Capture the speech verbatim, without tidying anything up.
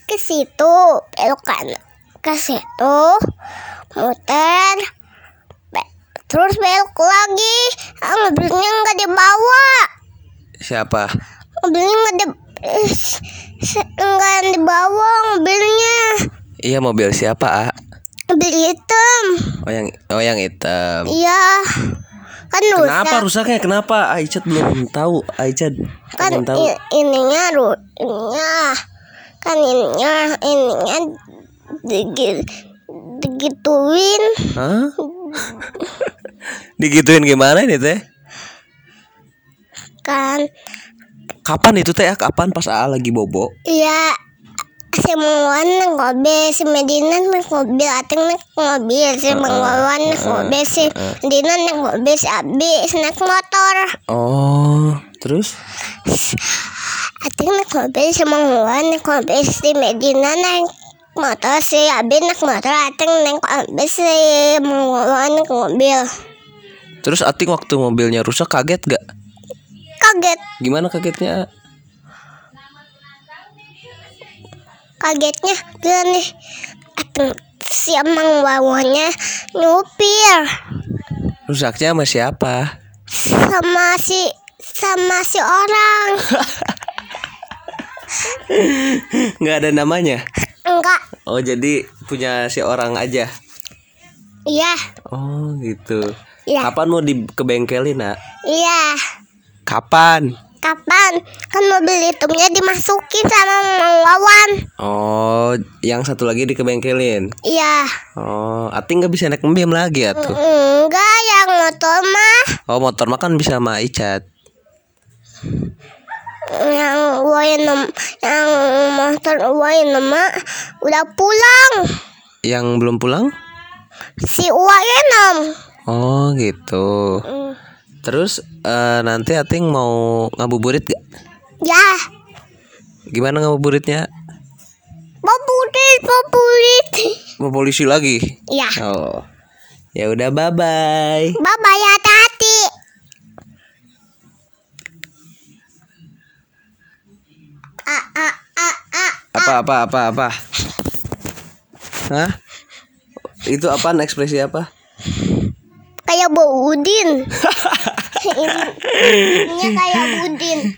ke situ, belok kanan ke situ, muter, be- terus belok lagi. Ah, mobilnya nggak dibawa. Siapa? Mobilnya nggak di, eh, se- nggak dibawa mobilnya. Iya, mobil siapa, A? Mobil hitam. Oh yang oh yang hitam. Iya, kan rusak. Kenapa rusaknya? Kenapa? Aicat belum tahu. Aicat Kan belum tahu. i- ininya ru- ininya kan ininya ininya digi, digituin. Hah? Digituin gimana ini teh? Kan Kapan itu teh? Kapan pas A lagi bobo? iya, si Mangwan naik mobil, si Medina naik mobil, Ating naik mobil, si Mangwan naik mobil, si Medina naik mobil, si Abi naik motor. Oh, terus? Ating naik mobil, si Mangwan naik mobil, si Medina naik motor, si Abi naik motor, Ating naik mobil, si Mangwan naik mobil. Terus Ating waktu mobilnya rusak kaget gak? Kaget, Gimana kagetnya? kagetnya gini, Ating si Mangwannya nyupir Rusaknya sama siapa? sama si sama si orang. Nggak ada namanya? Enggak, Oh, jadi punya si orang aja. iya, Oh, gitu. iya, Kapan mau di ke bengkelin, Nak? iya. Kapan? Kapan? Kan mobil hitamnya dimasukin sama Mang Wawan. Oh, yang satu lagi di kebengkelin. Iya. Oh, Ating nggak bisa naik Mbiem lagi ya tuh. Enggak, yang motor mah, Oh, motor mah kan bisa sama Icat. yang Wayan, yang motor Wayan mah udah pulang. Yang belum pulang? Si Wayan. Oh, gitu. Terus eh, nanti Ating mau ngabuburit gak? Ya, Gimana ngabuburitnya? populit, populit. Mau polisi lagi? Ya, Oh, ya udah, bye bye. bye bye ya, hati-hati. A a a a. Apa apa apa apa? Hah? Itu apaan, ekspresi apa? Kayak Bau Udin. Ini kayak Budin.